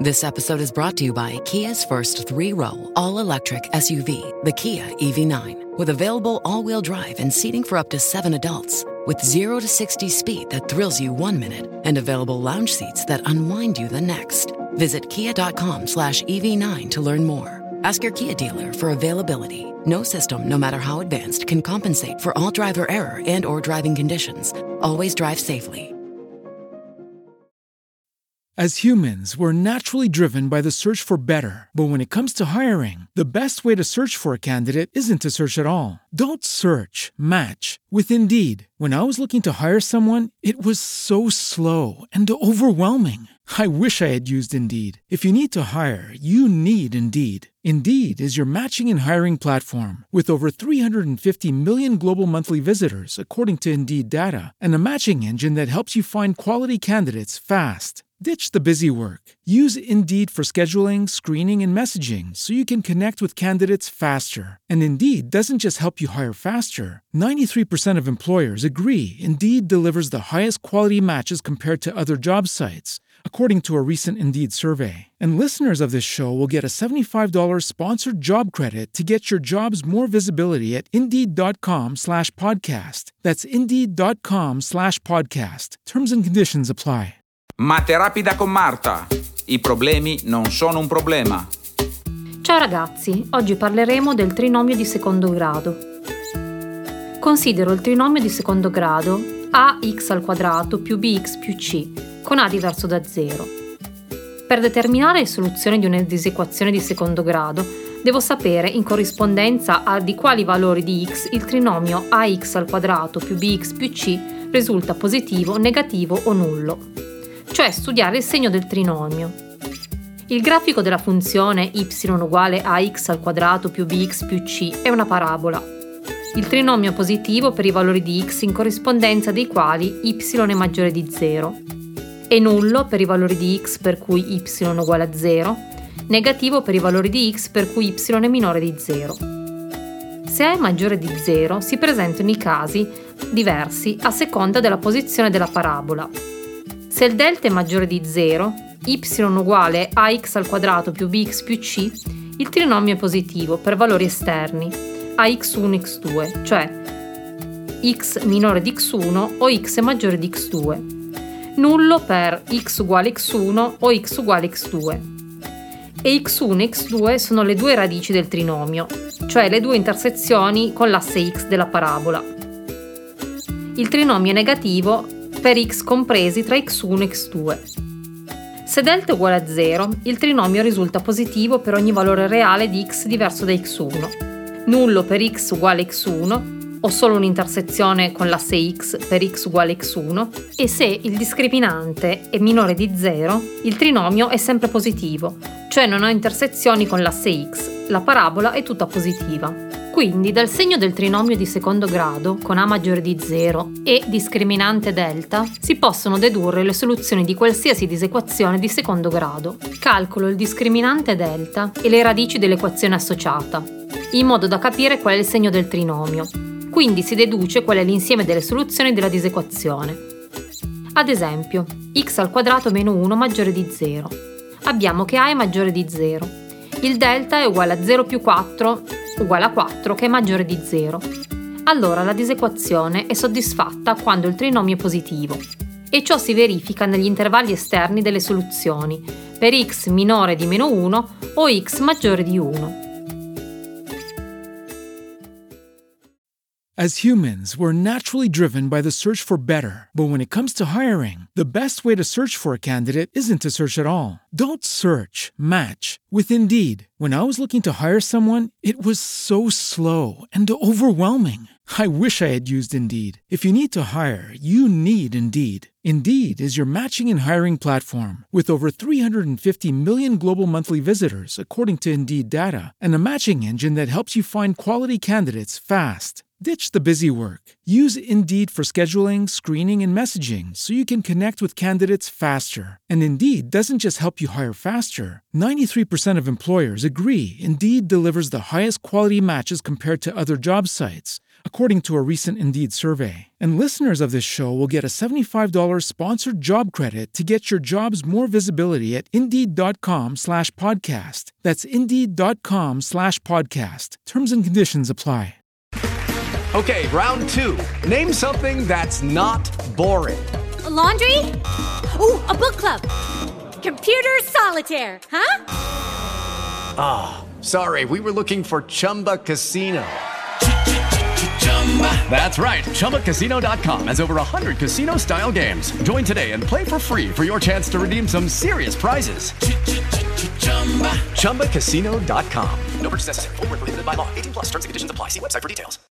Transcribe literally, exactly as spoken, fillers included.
This episode is brought to you by Kia's first three-row, all-electric S U V, the Kia E V nine, with available all-wheel drive and seating for up to seven adults, with zero to sixty speed that thrills you one minute and available lounge seats that unwind you the next. Visit kia.com slash EV9 to learn more. Ask your Kia dealer for availability. No system, no matter how advanced, can compensate for all driver error and or driving conditions. Always drive safely. As humans, we're naturally driven by the search for better. But when it comes to hiring, the best way to search for a candidate isn't to search at all. Don't search, match with Indeed. When I was looking to hire someone, it was so slow and overwhelming. I wish I had used Indeed. If you need to hire, you need Indeed. Indeed is your matching and hiring platform with over three hundred fifty million global monthly visitors, according to Indeed data, and a matching engine that helps you find quality candidates fast. Ditch the busy work. Use Indeed for scheduling, screening, and messaging so you can connect with candidates faster. And Indeed doesn't just help you hire faster. ninety-three percent of employers agree Indeed delivers the highest quality matches compared to other job sites, according to a recent Indeed survey. And listeners of this show will get a seventy-five dollars sponsored job credit to get your jobs more visibility at Indeed.com slash podcast. That's Indeed.com slash podcast. Terms and conditions apply. Mate rapida con Marta. I problemi non sono un problema. Ciao ragazzi, oggi parleremo del trinomio di secondo grado. Considero il trinomio di secondo grado ax al quadrato più bx più c, con a diverso da zero. Per determinare le soluzioni di una disequazione di secondo grado, devo sapere in corrispondenza a di quali valori di x il trinomio ax al quadrato più bx più c risulta positivo, negativo o nullo. Cioè studiare il segno del trinomio. Il grafico della funzione y uguale a x al quadrato più bx più c è una parabola. Il trinomio positivo per i valori di x in corrispondenza dei quali y è maggiore di zero, e nullo per i valori di x per cui y uguale a zero, negativo per i valori di x per cui y è minore di zero. Se a è maggiore di zero si presentano i casi diversi a seconda della posizione della parabola. Se il delta è maggiore di zero, y uguale a x al quadrato più bx più c, il trinomio è positivo per valori esterni, a x uno x due, cioè x minore di x uno o x è maggiore di x due, nullo per x uguale x uno o x uguale x due. E x uno e x due sono le due radici del trinomio, cioè le due intersezioni con l'asse x della parabola. Il trinomio è negativo per x compresi tra x uno e x due. Se delta è uguale a zero, il trinomio risulta positivo per ogni valore reale di x diverso da x uno, nullo per x uguale x uno, o solo un'intersezione con l'asse x per x uguale x uno, e se il discriminante è minore di zero, il trinomio è sempre positivo, cioè non ha intersezioni con l'asse x, la parabola è tutta positiva. Quindi dal segno del trinomio di secondo grado, con a maggiore di zero e discriminante delta, si possono dedurre le soluzioni di qualsiasi disequazione di secondo grado. Calcolo il discriminante delta e le radici dell'equazione associata, in modo da capire qual è il segno del trinomio. Quindi si deduce qual è l'insieme delle soluzioni della disequazione. Ad esempio, x al quadrato meno uno maggiore di zero. Abbiamo che a è maggiore di zero. Il delta è uguale a zero più quattro uguale a quattro, che è maggiore di zero. Allora la disequazione è soddisfatta quando il trinomio è positivo, e ciò si verifica negli intervalli esterni delle soluzioni, per x minore di meno uno o x maggiore di uno. As humans, we're naturally driven by the search for better. But when it comes to hiring, the best way to search for a candidate isn't to search at all. Don't search, match with Indeed. When I was looking to hire someone, it was so slow and overwhelming. I wish I had used Indeed. If you need to hire, you need Indeed. Indeed is your matching and hiring platform with over three hundred fifty million global monthly visitors, according to Indeed data, and a matching engine that helps you find quality candidates fast. Ditch the busy work. Use Indeed for scheduling, screening, and messaging so you can connect with candidates faster. And Indeed doesn't just help you hire faster. ninety-three percent of employers agree Indeed delivers the highest quality matches compared to other job sites, according to a recent Indeed survey. And listeners of this show will get a seventy-five dollars sponsored job credit to get your jobs more visibility at Indeed.com slash podcast. That's Indeed.com slash podcast. Terms and conditions apply. Okay, round two. Name something that's not boring. A laundry? Ooh, a book club. Computer solitaire, huh? Ah, oh, sorry, we were looking for Chumba Casino. That's right, Chumba Casino dot com has over one hundred casino-style games. Join today and play for free for your chance to redeem some serious prizes. Chumba Casino dot com. No purchase necessary. Void where prohibited by law. eighteen plus terms and conditions apply. See website for details.